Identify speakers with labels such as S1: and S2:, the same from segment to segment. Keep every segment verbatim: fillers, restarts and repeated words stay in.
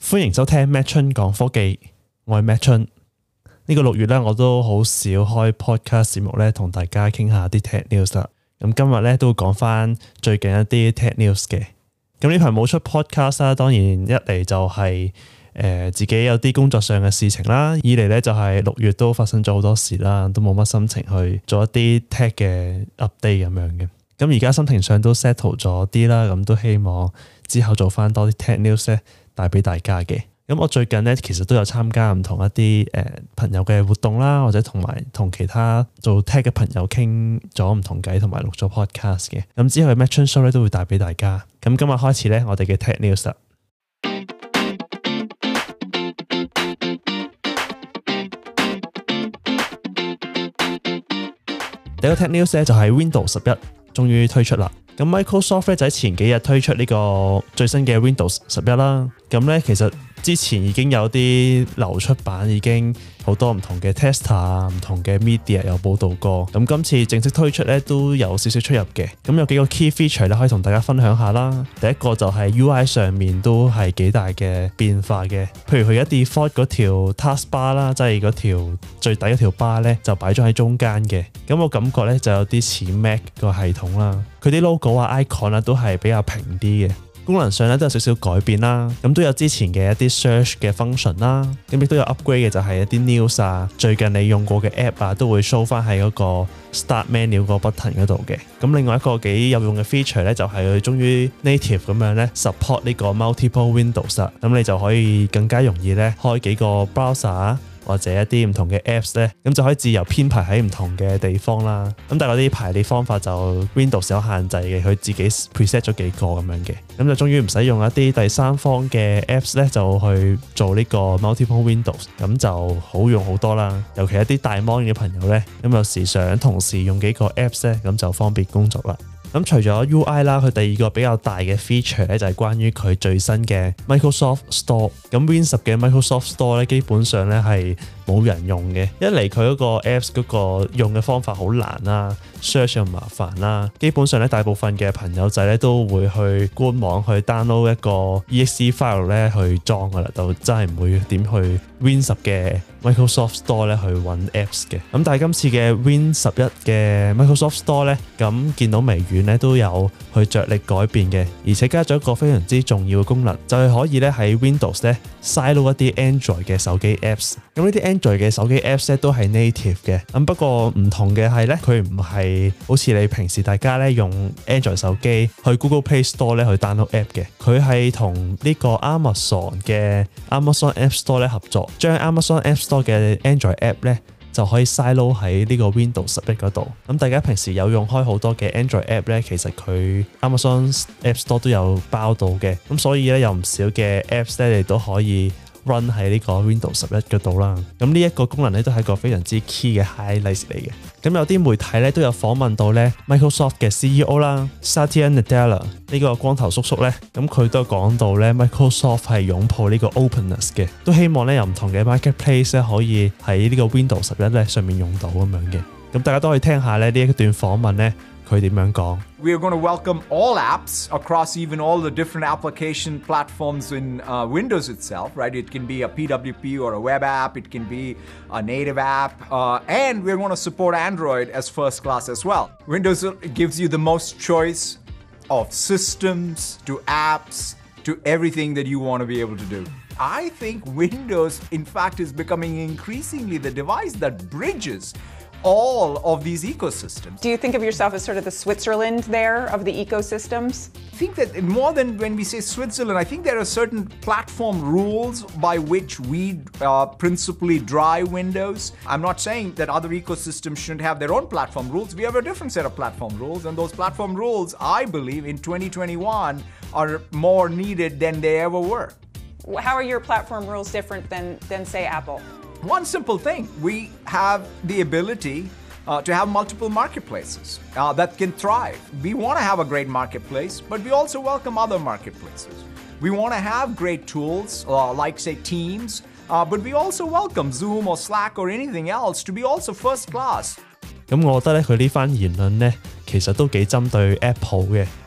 S1: 歡迎收聽 Matt 春講科技，我係 Matt 春。呢、這個六月咧，我都好少開 podcast 節目咧，同大家傾下啲 tech news 啦。咁今日咧都會講翻最近一啲 tech news 嘅。咁呢排冇出 podcast 啦，當然一嚟就係、是、誒、呃、自己有啲工作上嘅事情啦，二嚟咧就係、是、六月都發生咗好多事啦，都冇乜心情去做一啲 tech 嘅 update 咁樣嘅。咁而家心情上都 settle 咗啲啦，咁都希望之後做翻多啲 tech news 咧，帶俾大家嘅。咁我最近咧其實都有參加唔同一啲誒、呃、朋友嘅活動啦，或者同埋同其他做 tech 嘅朋友傾咗唔同偈，同埋錄咗 podcast 嘅。咁之後嘅 Matt Chun Show 咧都會帶俾大家。咁今日開始咧，我哋嘅 tech news 啦。第一個 tech news 咧就係 Windows 十一終於推出啦。咁 Microsoft 咧就喺前幾日推出呢個最新嘅 Windows 十一啦。咁咧其實之前已經有啲流出版，已經好多唔同嘅 tester 啊、唔同嘅 media 有報道過。咁今次正式推出咧都有少少出入嘅。咁有幾個 key feature 咧可以同大家分享下啦。第一個就係 U I 上面都係幾大嘅變化嘅。譬如佢一 default 嗰條 taskbar 啦，即係嗰條最底嗰條 bar 咧就擺咗喺中間嘅。咁我感覺咧就有啲似 Mac 個系統啦。佢啲 logo 啊、icon 啊都係比較平啲嘅。功能上咧都有少少改變啦，咁都有之前嘅一啲 search 嘅 function 啦，咁亦都有 upgrade 嘅就係一啲 news 啊，最近你用過嘅 app 啊都會 show 翻喺嗰個 start menu 個 button 嗰度嘅。咁另外一個幾有用嘅 feature 咧就係佢終於 native 咁樣咧 support 呢個 multiple Windows 啦，咁你就可以更加容易咧開幾個 browser或者一啲唔同嘅 apps 咧，咁就可以自由編排喺唔同嘅地方啦。咁但係嗰啲排列方法就 Windows 有限制嘅，佢自己 preset 咗幾個咁樣嘅。咁就終於唔使用一啲第三方嘅 apps 咧，就去做呢個 multiple Windows，咁就好用好多啦。尤其一啲大 mon 嘅朋友咧，咁有時想同時用幾個 apps 咧，咁就方便工作啦。咁除咗 U I 啦，佢第二個比較大嘅 feature 咧就係關於佢最新嘅 Microsoft Store。咁 Win 十嘅 Microsoft Store 咧，基本上咧係冇人用嘅。一嚟佢嗰個 apps 嗰個用嘅方法好難啦 ，search 又麻煩啦。基本上咧，大部分嘅朋友仔咧都會去官網去 download 一個 E X E file 咧去裝噶啦，就真係唔會點去 Win 十嘅 Microsoft Store 咧去揾 apps 嘅。咁但係今次嘅 Win 十一嘅 Microsoft Store 咧，咁見到微軟咧都有去着力改變嘅，而且加咗一個非常之重要嘅功能，就係、是、可以咧喺 Windows 咧 silo 一啲 Android 嘅手機 apps。咁呢啲 Android 嘅手機 apps 咧都係 native 嘅，咁不過唔同嘅係咧，佢唔係好似你平時大家咧用 Android 手機去 Google Play Store 咧去 download app 嘅，佢係同呢個 Amazon 嘅 Amazon App Store 咧合作，將 Amazon App Store 嘅 Android app 咧就可以 silo 喺呢個 Windows 十一嗰度。咁大家平時有用開好多嘅 Android app 咧，其實佢 Amazon App Store 都有包到嘅，咁所以咧有唔少嘅 apps 咧你都可以 run 喺呢個 Windows 十一嗰度啦。咁呢一個功能咧都係一個非常之 key 嘅 highlight 嚟嘅。咁有啲媒體咧都有訪問到咧 Microsoft 嘅 C E O 啦 Satya Nadella 呢個光頭叔叔咧，咁佢都講到咧 Microsoft 係擁抱呢個 openness 嘅，都希望咧有唔同嘅 marketplace 咧可以喺呢個 Windows 十一咧上面用到咁樣嘅。咁大家都可以聽下咧呢一段訪問咧佢點樣講。
S2: We are going to welcome all apps across even all the different application platforms in uh, Windows itself, right? It can be a P W P or a web app. It can be a native app. Uh, and we're going to support Android as first class as well. Windows gives you the most choice of systems to apps to everything that you want to be able to do. I think Windows, in fact, is becoming increasingly the device that bridges all of these ecosystems.
S3: Do you think of yourself as sort of the Switzerland there of the ecosystems?
S2: I think that more than when we say Switzerland, I think there are certain platform rules by which we uh, principally drive Windows. I'm not saying that other ecosystems shouldn't have their own platform rules. We have a different set of platform rules, and those platform rules, I believe, in twenty twenty-one are more needed than they ever were.
S3: How are your platform rules different than, than say, Apple?
S2: One simple thing, we have the ability uh, to have multiple marketplaces uh, that can thrive. We want to have a great marketplace, but we also welcome other marketplaces. We want to have great tools uh, like, say, Teams, uh, but we also welcome Zoom or Slack or anything else to be also first class.
S1: 咁我覺得咧，佢呢番言論咧，其實都幾針對 Apple 嘅。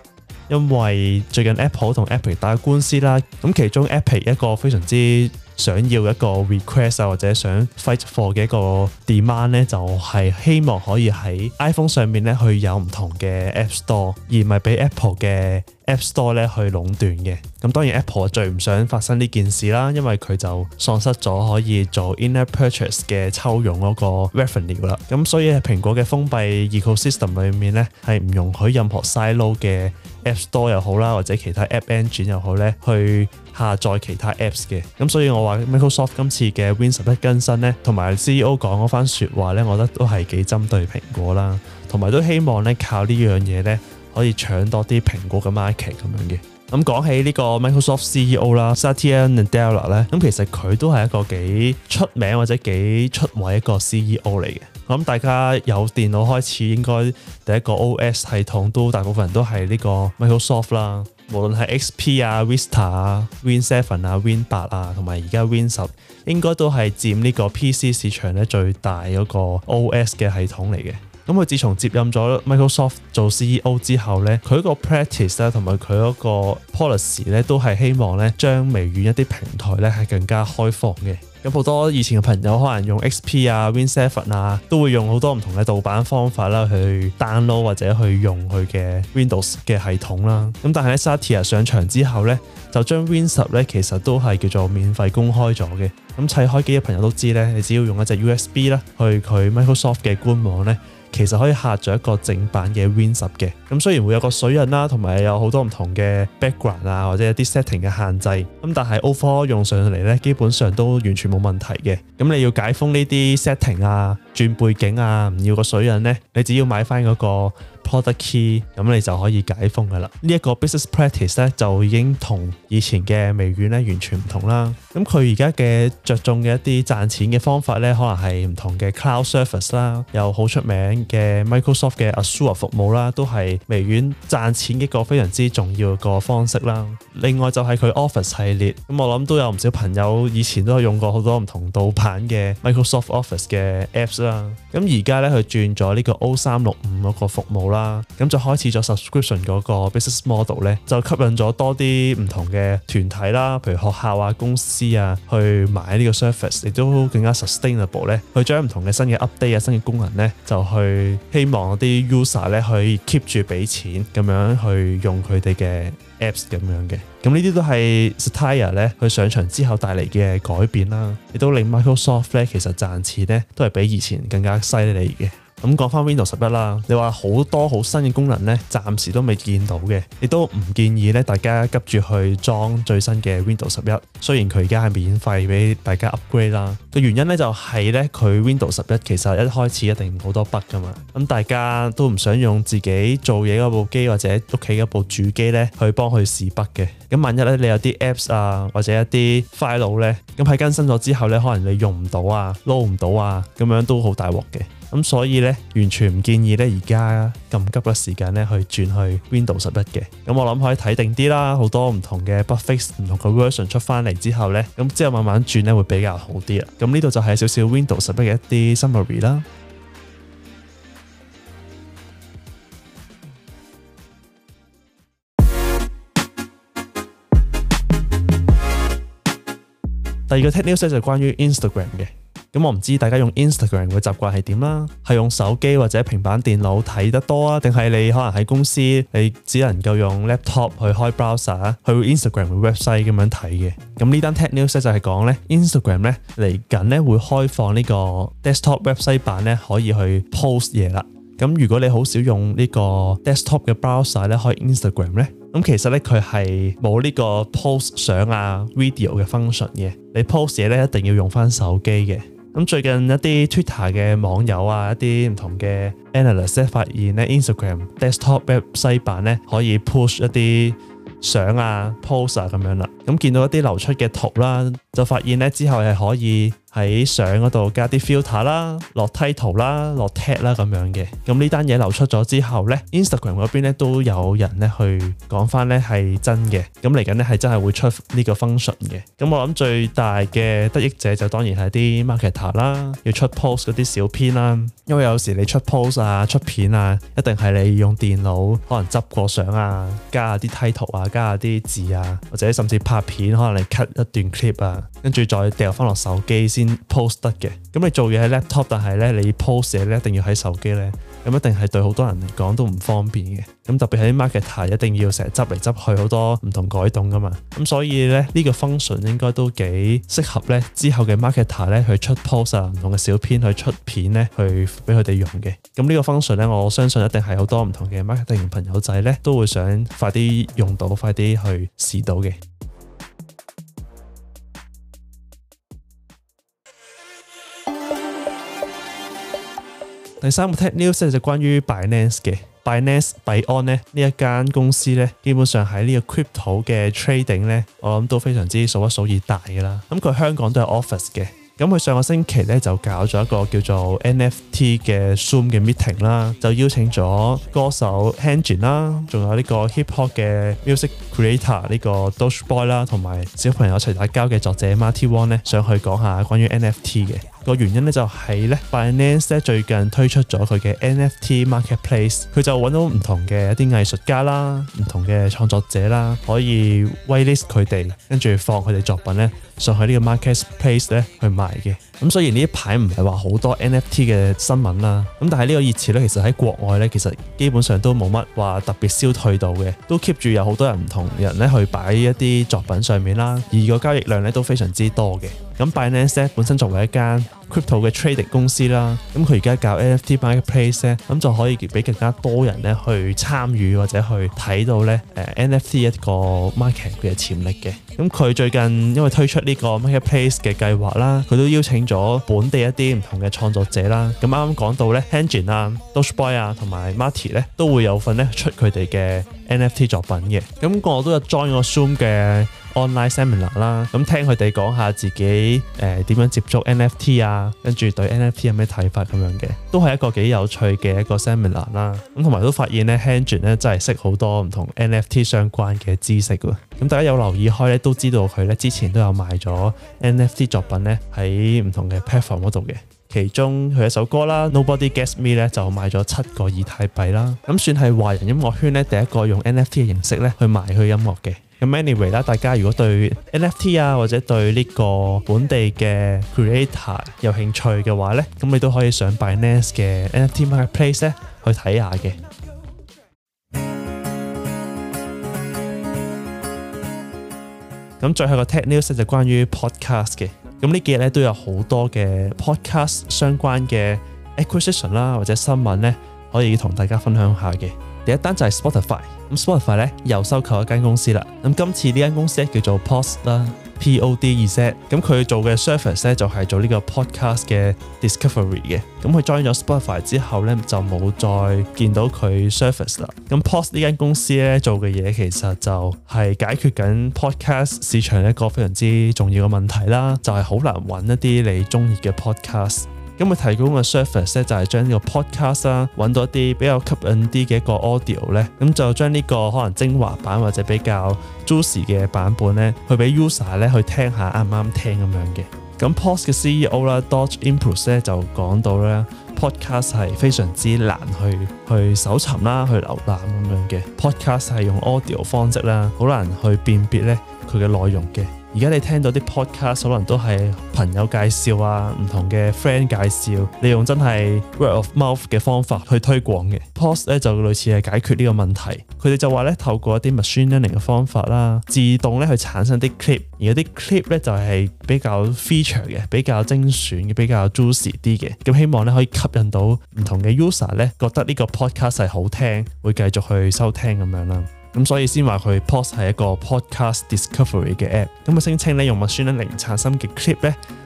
S1: 因為最近 Apple 同 Epic 打官司啦，咁其中 Epic 一個非常之想要一個 request 啊，或者想 fight for 嘅一個 demand 咧，就係希望可以喺 iPhone 上面咧去有唔同嘅 App Store，而唔係俾 Apple 嘅 App Store 咧去壟斷嘅。咁當然 Apple 最唔想發生呢件事啦，因為佢就喪失咗可以做 in-app purchase 嘅抽佣嗰個 revenue 啦。咁所以喺蘋果嘅封閉 ecosystem 裏面咧，係唔容許任何 silo 嘅 App Store 又好啦，或者其他 App Engine 又好咧，去下載其他 Apps 嘅。咁所以我話 Microsoft 今次嘅 Win 十一更新咧，同埋 C E O 講嗰番説話咧，我覺得都係幾針對蘋果啦，同埋都希望咧靠呢樣嘢咧可以搶多啲蘋果嘅 market 咁樣嘅。咁講起呢個 Microsoft C E O 啦 ，Satya Nadella 咧，咁其實佢都係一個幾出名或者幾出位一個 C E O 嚟嘅。我諗大家有電腦開始，應該第一個 O S 系統都大部分人都係呢個 Microsoft 啦。無論係 X P 啊、Vista 啊、Win 七啊、Win 八啊，同埋而家 Win 十，應該都係佔呢個 P C 市場咧最大嗰個 O S 嘅系統嚟嘅。咁佢自從接任咗 Microsoft 做 C E O 之後咧，佢個 practice 咧同埋佢嗰個 policy 咧都係希望咧將微軟一啲平台咧係更加開放嘅。咁好多以前嘅朋友可能用 X P 啊、Win 七啊，都會用好多唔同嘅盜版方法啦去 download 或者去用佢嘅 Windows 嘅系統啦。咁但係咧 Satya 上場之後咧，就將 Win 十咧其實都係叫做免費公開咗嘅。咁砌開機嘅朋友都知咧，你只要用一隻 U S B 啦去佢 Microsoft 嘅官網咧，其實可以下載一個正版嘅 Win 十嘅。咁雖然會有個水印啦，同埋有好多唔同嘅 background 啊，或者一啲 setting 嘅限制，咁但係 overall 用上嚟咧，基本上都完全冇問題嘅。咁你要解封呢啲 setting 啊、轉背景啊、唔要個水印咧，你只要買翻嗰個 product key，咁你就可以解封噶啦。呢一個 business practice 咧就已經同以前嘅微軟咧完全唔同啦。咁佢而家嘅着重嘅一啲賺錢嘅方法咧，可能係唔同嘅 cloud service 啦，有好出名嘅 Microsoft 嘅 Azure 服務啦，都係微軟賺錢嘅一個非常之重要個方式啦。另外就係佢 Office 系列，咁我諗都有唔少朋友以前都有用過好多唔同盜版嘅 Microsoft Office 嘅 apps 啦。咁而家咧佢轉咗呢個 O 三六五嗰個服務啦，咁就開始咗 subscription 嗰個 business model 咧，就吸引咗多啲唔同嘅團體啦，譬如學校啊、公司啊，去買呢個 service， 亦都更加 sustainable 咧，去將唔同嘅新嘅 update 啊、新嘅功能咧，就去希望啲 user 咧可以 keep 住俾錢咁樣去用佢哋嘅 apps 咁樣嘅。咁呢啲都係 Satya 咧佢上場之後帶嚟嘅改變啦，亦都令 Microsoft 咧其實賺錢咧都係比以前更加犀利嘅。咁講翻 Windows 十一啦，你話好多好新嘅功能咧，暫時都未見到嘅，亦都唔建議咧大家急住去裝最新嘅 Windows 十一。雖然佢而家係免費俾大家 upgrade 啦，個原因咧就係咧佢 Windows 十一其實一開始一定好多 bug 噶嘛，咁大家都唔想用自己做嘢嗰部機或者屋企嗰部主機咧去幫佢試 bug 嘅。咁萬一咧你有啲 apps 啊或者一啲 file 咧，咁喺更新咗之後咧，可能你用唔到啊、load 唔到啊，咁樣都好大鑊嘅。咁所以咧，完全唔建議咧而家咁急嘅時間咧去轉去 Windows 十一嘅。咁我諗可以睇定啲啦，好多唔同嘅 bug fix、唔同嘅 version 出翻嚟之後咧，咁之後慢慢轉咧會比較好啲啦。咁呢度就係少少 Windows 十一嘅一啲 summary 啦。第二個 tech news 就係關於 Instagram 嘅。咁我唔知大家用 Instagram 嘅習慣係點啦，係用手機或者平板電腦睇得多啊，定係你可能喺公司你只能夠用 laptop 去開 browser 去 Instagram 嘅 website 咁樣睇嘅。咁呢單 tech news 就係講咧 Instagram 咧嚟緊咧會開放呢個 desktop website 版咧可以去 post 嘢啦。咁如果你好少用呢個 desktop 嘅 browser 咧開 Instagram 咧，咁其實咧佢係冇呢個 post 相啊 video 嘅 function 嘅，你 post 嘢咧一定要用翻手機嘅。咁最近一啲 Twitter 嘅網友啊，一啲唔同嘅 analyst 咧發現咧 Instagram desktop website 版咧可以 push 一啲相啊 post 啊咁樣啦。咁見到一啲流出嘅圖啦，就發現咧之後係可以喺相嗰度加啲 filter 啦，落 title 啦，落 tag 啦咁樣嘅。咁呢單嘢流出咗之後呢 Instagram 嗰邊咧都有人咧去講翻咧係真嘅。咁嚟緊咧係真係會出呢個 function 嘅。咁我諗最大嘅得益者就當然係啲 marketer 啦，要出 post 嗰啲小編啦。因為有時你出 post 啊、出片啊，一定係你用電腦可能執過相啊，加下啲 title 啊，加下啲字啊，或者甚至拍片可能你 cut 一段 clip 啊，跟住再掉翻落手機先 post 得嘅。咁你做嘢喺 laptop， 但係咧你 post 嘢咧一定要喺手機咧，咁一定係對好多人嚟講都唔方便嘅。咁特別係啲 marketer 一定要成日執嚟執去好多唔同改動噶嘛。咁所以咧呢個 function 應該都幾適合咧之後嘅 marketer 咧去出 post 啊，唔同嘅小編去出片咧去俾佢哋用嘅。咁呢個 function 咧我相信一定係好多唔同嘅 marketing 朋友仔咧都會想快啲用到，快啲去試到嘅。第三個 tech news 就關於 Binance 嘅 Binance 幣安咧呢一間公司咧，基本上喺呢個 crypto 嘅 trading 咧，我諗都非常之數一數二大㗎啦。咁佢香港都有 office 嘅。咁佢上個星期咧就搞咗一個叫做 N F T 嘅 Zoom 嘅 meeting 啦，就邀請咗歌手 Hanjin 啦，仲有呢個 hip hop 嘅 music creator 呢個 Doge Boy 啦，同埋小朋友一齊打交嘅作者 Marty Wong 咧上去講下關於 N F T 嘅。個原因咧就係咧 Binance 咧最近推出咗佢嘅 N F T marketplace， 佢就揾到唔同嘅一啲藝術家啦、唔同嘅創作者啦，可以 whitelist 佢哋，跟住放佢哋作品咧上去呢個 marketplace 咧去賣嘅。咁雖然呢一排唔係話好多 N F T 嘅新聞啦，咁但係呢個熱潮咧其實喺國外咧其實基本上都冇乜話特別消退到嘅，都 keep 住有好多人唔同人咧去擺一啲作品上面啦，而個交易量咧都非常之多嘅。咁 Binance 咧本身作為一間 crypto 嘅 trading 公司啦，咁佢而家搞 N F T marketplace 咧，咁就可以俾更加多人咧去參與或者去睇到咧誒 N F T 一個 market 嘅潛力嘅。咁佢最近因為推出呢個 marketplace 嘅計劃啦，佢都邀請咗本地一啲唔同嘅創作者啦。咁啱啱講到咧 Hanjin 啊、Doge Boy 啊同埋 Marty 咧都會有份咧出佢哋嘅 N F T 作品嘅。咁我都有 join 個 Zoom 嘅 online seminar 啦，咁聽佢哋講下自己誒點樣接觸 N F T 啊，跟住對 N F T 有咩睇法咁樣嘅，都係一個幾有趣嘅一個 seminar 啦。咁同埋都發現咧 Hanjin 咧真係識好多唔同 N F T 相關嘅知識喎。咁大家有留意開咧，都知道佢咧之前都有賣咗 N F T 作品咧喺唔同嘅 platform 嗰度嘅。其中佢一首歌啦 Nobody Gets Me 咧就賣咗七個以太幣啦，咁算係華人音樂圈咧第一個用 N F T 嘅形式咧去賣佢音樂嘅。咁 anyway 啦，大家如果對 N F T 啊或者對呢個本地嘅 creator 有興趣嘅話咧，咁你都可以上 Binance 嘅 N F T marketplace 咧去睇下嘅。咁最後個 tech news 就關於 podcast 嘅。咁呢幾日咧都有好多嘅 podcast 相關嘅 acquisition 啦或者新聞咧可以同大家分享下嘅。第一單就係 Spotify， 咁 Spotify 咧又收購一間公司啦。咁今次呢間公司咧叫做 Pod 啦 ，P O D E Z。咁佢做嘅 service 咧就係做呢個 podcast 嘅 discovery 嘅。咁佢 join 咗 Spotify 之後咧就冇再見到佢 service 啦。咁 Pod 呢間公司咧做嘅嘢其實就係解決緊 podcast 市場一個非常之重要嘅問題啦，就係好難揾一啲你中意嘅 podcast。咁佢提供嘅 service 咧就係將呢個 podcast 啦揾到一啲比較吸引啲嘅一個 audio 咧，咁就將呢個可能精華版或者比較 juicy 嘅版本咧，去俾 user 咧去聽下啱唔啱聽咁樣嘅。咁 Pod 嘅 C E O 啦 Dodge Impulse 咧就講到咧 podcast 係非常之難去去搜尋啦，去瀏覽咁樣嘅。podcast 係用 audio 方式啦，好難去辨別咧佢嘅內容嘅。而家你聽到啲 podcast 可能都係朋友介紹啊，唔同嘅 friend 介紹，你用真係 word of mouth 嘅方法去推廣嘅。Pod 咧就類似係解決呢個問題，佢哋就話咧透過一啲 machine learning 嘅方法啦，自動咧去產生啲 clip， 而嗰啲 clip 咧就係比較 feature 嘅，比較精選嘅，比較 juicy 啲嘅。咁希望咧可以吸引到唔同嘅 user 咧覺得呢個 podcast 係好聽，會繼續去收聽咁樣啦。咁所以先話佢 Pod 係一個 podcast discovery 嘅 app。咁佢聲稱咧用 machine learning 產生嘅 clip 咧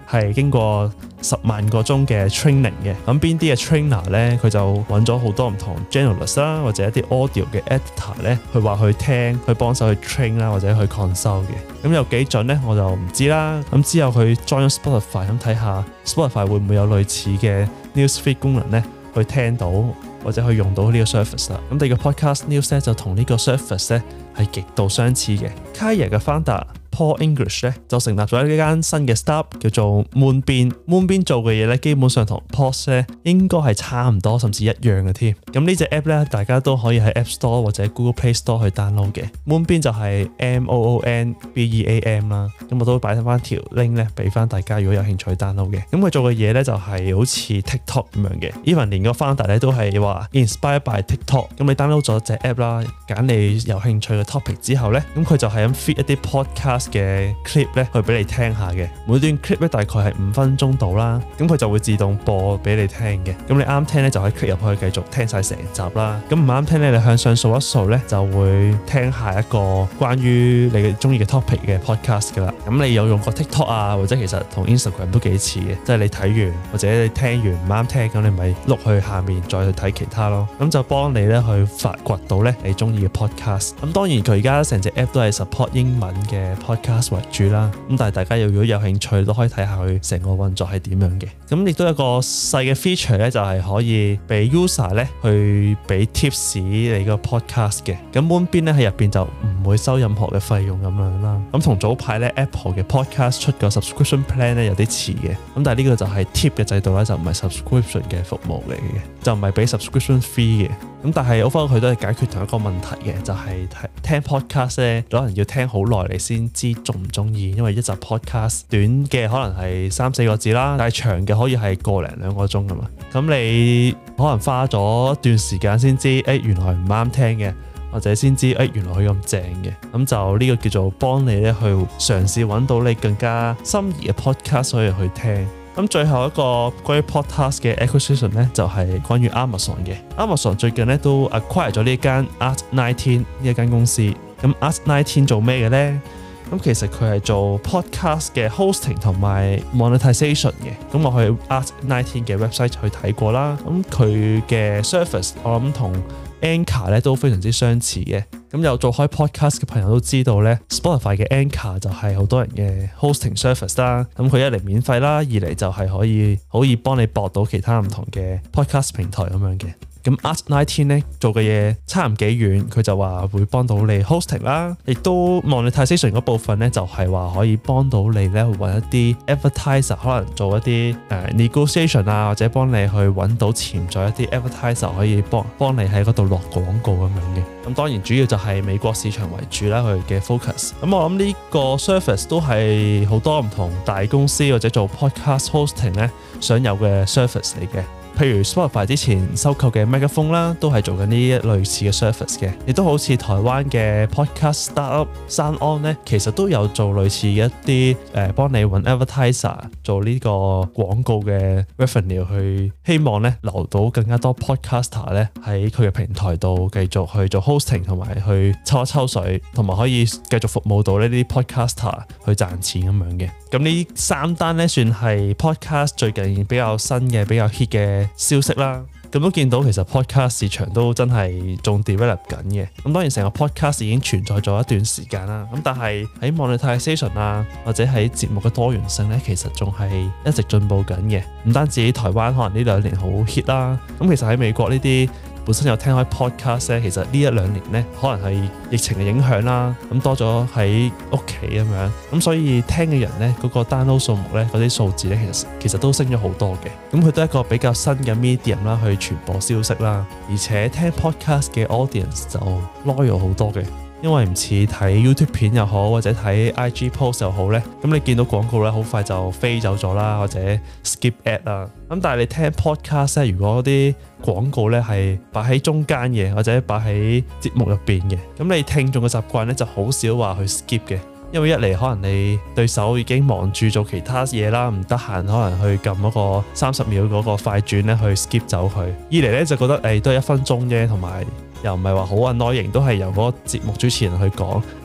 S1: 係經過十萬個鐘嘅 training 嘅。咁邊啲嘅 trainer 咧，佢就揾咗好多唔同 journalist 啦，或者一啲 audio 嘅 editor 咧，去話去聽，去幫手去 train 啦，或者去 consult 嘅。咁有幾準咧，我就唔知啦。咁之後佢 join Spotify 咁睇下 Spotify 會唔會有類似嘅 newsfeed 功能咧，去聽到或者去用到呢個 service 啦。咁第二個 podcast news 咧就同呢個 service 咧係極度相似嘅。Kaya 嘅 founder Paul English 咧就成立咗一間新嘅 startup 叫做 Moonbeam。Moonbeam 做嘅嘢咧，基本上同 Pod 咧應該係差唔多，甚至一樣嘅添。咁呢隻 app 咧，大家都可以喺 App Store 或者 Google Play Store 去 download 嘅。Moonbeam 就係 M O O N B E A M 啦。咁我都擺翻條 link 咧，俾翻大家如果有興趣 download 嘅。咁佢做嘅嘢咧就係好似 TikTok 咁樣嘅。Even 連個 founder 咧都係話 inspired by TikTok。咁你 download 咗隻 app 啦，揀你有興趣嘅 topic 之後咧，咁佢就係咁 feed 一啲 podcast嘅 clip 咧去俾你聽下嘅。每段 clip 咧大概係五分鐘到啦，咁佢就會自動播俾你聽嘅。咁你啱聽咧就可以 click 入去繼續聽晒成集啦。咁唔啱聽咧，你向上掃一掃咧就會聽下一個關於你嘅中意嘅 topic 嘅 podcast 噶啦。咁你有用過 TikTok 啊，或者其實同 Instagram 都幾似嘅，即係你睇完或者你聽完唔啱聽，咁你咪碌去下面再去睇其他咯。咁就幫你咧去發掘到咧你中意嘅 podcast。咁當然佢而家成隻 app 都係 support 英文嘅 podcast 為主啦。咁但係大家如果有興趣都可以睇下佢成個運作係點樣嘅。咁亦都有個細嘅 feature 咧，就係可以俾 user 咧去俾 tips 你個 podcast 嘅。咁 Moonbeam 咧喺入邊就唔會收任何嘅費用咁樣啦。咁同早排咧 Apple 嘅 podcast 出個 subscription plan 咧有啲似嘅。咁但係呢個就係 tip 嘅制度咧，就唔係 subscription 嘅服務嚟嘅，就唔係俾 subscription fee 嘅。咁但係 overall 佢都係解決同一個問題嘅，就係聽 podcast 咧可能要聽好耐你先知中唔中意，因為一集 podcast 短嘅可能係三四個字啦，但係長嘅可以係個零兩個鐘㗎嘛。咁你可能花咗一段時間先知，誒、哎、原來唔啱聽嘅，或者先知誒、哎、原來佢咁正嘅。咁就呢個叫做幫你咧去嘗試揾到你更加心儀嘅 podcast 可以去聽。咁最後一個關於 podcast 嘅 acquisition 咧，就係、是、關於 Amazon 嘅。Amazon 最近咧都 acquire 咗呢間 Art 十九呢一間公司。咁 Art 十九做咩嘅咧？咁其實佢係做 podcast 嘅 hosting 同埋 monetization 嘅。咁我去 Art 十九嘅 website 去睇過啦。咁佢嘅 service 我諗同 Anchor 咧都非常之相似嘅。咁有做開 podcast 嘅朋友都知道咧 ，Spotify 嘅 Anchor 就係好多人嘅 hosting service 啦。咁佢一嚟免費啦，二嚟就係可以可以幫你駁到其他唔同嘅 podcast 平台咁樣嘅。咁 Art 十九咧做嘅嘢差唔幾遠，佢就話會幫到你 hosting 啦，亦都 monetization 嗰部分咧就係話可以幫到你咧去揾一啲 advertiser， 可能做一啲誒、uh, negotiation 啊，或者幫你去揾到潛在一啲 advertiser 可以幫幫你喺嗰度落廣告咁樣嘅。咁當然主要就係美國市場為主啦，佢嘅 focus。咁我諗呢個 service 都係好多唔同大公司或者做 podcast hosting 咧想有嘅 service 嚟嘅。譬如 Spotify 之前收購嘅 Megaphone 啦，都係做緊呢一類似嘅 service 嘅，亦都好似台灣嘅 podcast startup SoundOn 咧，其實都有做類似嘅一啲誒、呃、幫你揾 advertiser 做呢個廣告嘅 revenue， 去希望咧留到更加多 podcaster 咧喺佢嘅平台度繼續去做 hosting 同埋去抽一抽水，同埋可以繼續服務到呢啲 podcaster 去賺錢咁樣嘅。咁呢三單咧算係 podcast 最近比較新嘅比較 hit 嘅消息啦。咁都見到其實 podcast 市場都真係仲 develop 緊嘅。咁當然成個 podcast 已經存在咗一段時間啦。咁但係喺 monetization 啊，或者喺節目嘅多元性咧，其實仲係一直進步緊嘅。唔單止台灣可能呢兩年好 hit 啦，咁其實喺美國呢啲本身有聽開 podcast 咧，其實呢一兩年咧可能係疫情嘅影響啦，咁多咗喺屋企咁樣，咁所以聽嘅人咧嗰個 download 數目咧嗰啲數字咧其實其實都升咗好多嘅。咁佢都係一個比較新嘅 medium 啦，去傳播消息啦，而且聽 podcast 嘅 audience 就 loyal 好多嘅。因為唔似睇 YouTube 片又好，或者睇 I G post 又好咧，咁你見到廣告咧好快就飛走咗啦，或者 skip ad 啦。咁但係你聽 podcast 咧，如果啲廣告咧係擺喺中間嘅，或者擺喺節目入邊嘅，咁你聽眾嘅習慣咧就好少話去 skip 嘅。因為一嚟可能你對手已經忙住做其他嘢啦，唔得閒可能去撳嗰個三十秒嗰個快轉咧去 skip 走佢。二嚟咧就覺得誒、哎、都係一分鐘啫，同埋又唔係話好 annoying，都係由嗰個節目主持人去講，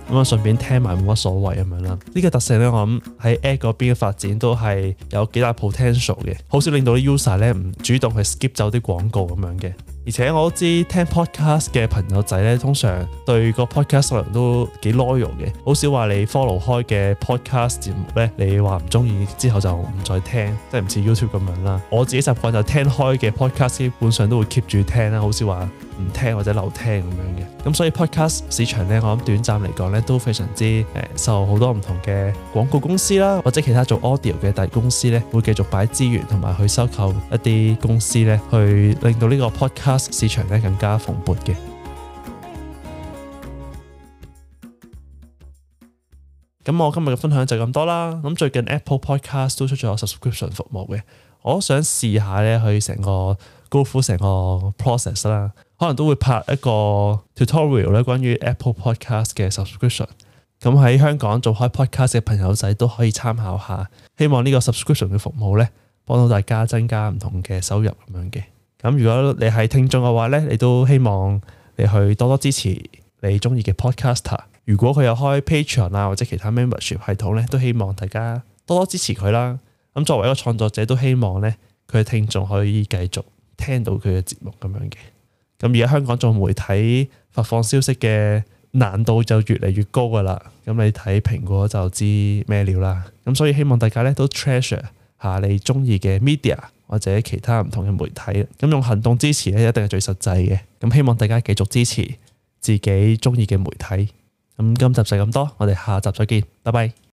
S1: 咁啊順便聽埋冇乜所謂咁樣啦。呢、這個特性咧，我諗喺 Ad 嗰邊嘅發展都係有幾大 potential 嘅，好少令到啲 user 咧唔主動去 skip 走啲廣告咁樣嘅。而且我都知聽 podcast 嘅朋友仔咧，通常對個 podcast 內容都幾 loyal 嘅，好少話你 follow 開嘅 podcast 節目咧，你話唔中意之後就唔再聽，即係唔似 YouTube 咁樣啦。我自己習慣就聽開嘅 podcast 基本上都會 keep 住聽啦，好少話唔聽或者漏聽咁樣嘅。咁所以 podcast 市場咧，我諗短暫嚟講咧都非常之誒受好多唔同嘅廣告公司啦，或者其他做 audio 嘅大公司咧，會繼續擺資源同埋去收購一啲公司咧，去令到呢個 podcast市場咧更加蓬勃嘅。咁我今日嘅分享就咁多啦。咁最近 Apple Podcast 都出咗 subscription 服務嘅，我都想試下咧去成個 go through 成個 process 啦。可能都會拍一個 tutorial 咧，關於 Apple Podcast 嘅 subscription。咁喺香港做開 podcast 嘅朋友仔都可以參考下。希望呢個 subscription 嘅服務咧，幫到大家增加唔同嘅收入咁樣嘅。咁如果你係聽眾嘅話咧，你都希望你去多多支持你中意嘅 podcaster。如果佢有開 Patreon 啊或者其他 membership 系統咧，都希望大家多多支持佢啦。咁作為一個創作者，都希望咧佢嘅聽眾可以繼續聽到佢嘅節目咁樣嘅。咁而家香港做媒體發放消息嘅難度就越嚟越高噶啦。咁你睇蘋果就知咩料啦。咁所以希望大家咧都 treasure 下你中意嘅 media 或者其他唔同嘅媒體。咁用行動支持咧，一定係最實際嘅。咁希望大家繼續支持自己中意嘅媒體。咁今集就咁多，我哋下集再見，拜拜。